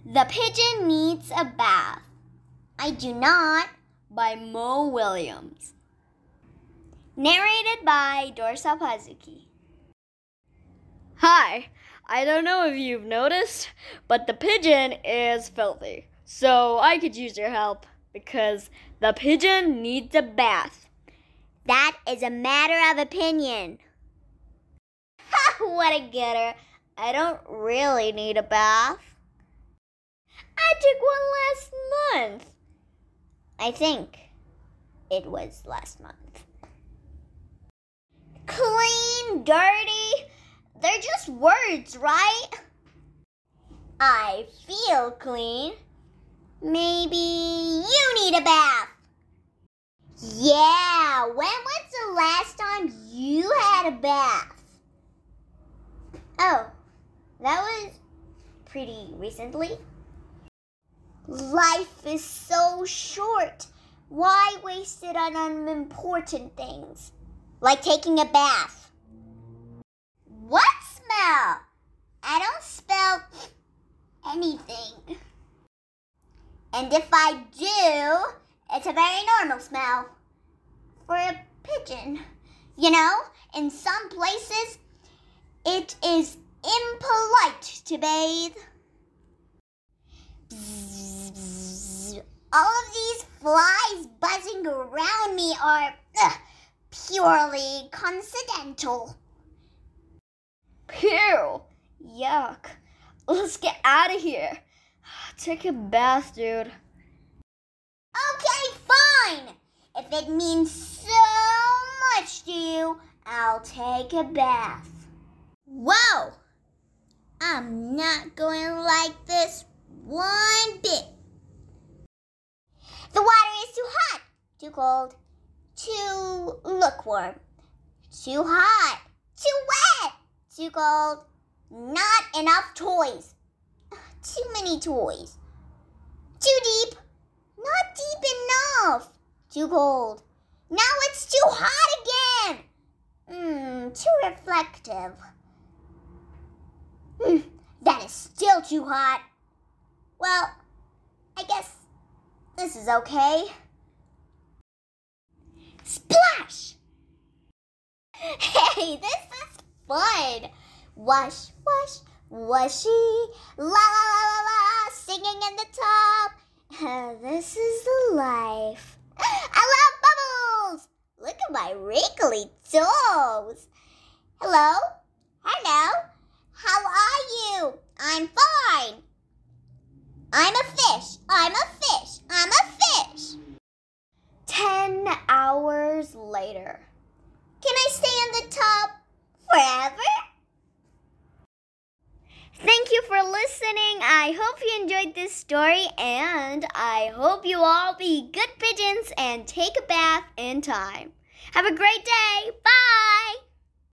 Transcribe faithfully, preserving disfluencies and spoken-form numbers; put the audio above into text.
The Pigeon Needs a Bath. I Do Not, by Mo Williams. Narrated by Dorsa Pazuki. Hi, I don't know if you've noticed, but the pigeon is filthy. So I could use your help because the pigeon needs a bath. That is a matter of opinion. Ha! What a getter. I don't really need a bath. I took one last month. I think it was last month. Clean, dirty, they're just words, right? I feel clean. Maybe you need a bath. Yeah, when was the last time you had a bath? Oh, that was pretty recently. Life is so short. Why waste it on unimportant things? Like taking a bath. What smell? I don't smell anything. And if I do, it's a very normal smell for a pigeon. You know, in some places, it is impolite to bathe. Bzz, bzz. All of these flies buzzing around me are ugh, purely coincidental. Pew! Yuck. Let's get out of here. Take a bath, dude. Okay, fine. If it means so much to you, I'll take a bath. Whoa! I'm not going to like this one bit. The water is too hot, too cold, too lukewarm, too hot, too wet, too cold, not enough toys, too many toys, too deep, not deep enough, too cold, now it's too hot again, mm, too reflective, mm, that is still too hot. Well, I guess this is okay. Splash! Hey, this is fun. Wash, wash, washy, la la la la la, singing in the tub. This is the life. I love bubbles. Look at my wrinkly toes. Hello? Hello? How are you? I'm fine. I'm a fish. I'm a fish. I'm a fish. Ten hours later. Can I stay in the tub forever? Thank you for listening. I hope you enjoyed this story, and I hope you all be good pigeons and take a bath in time. Have a great day. Bye.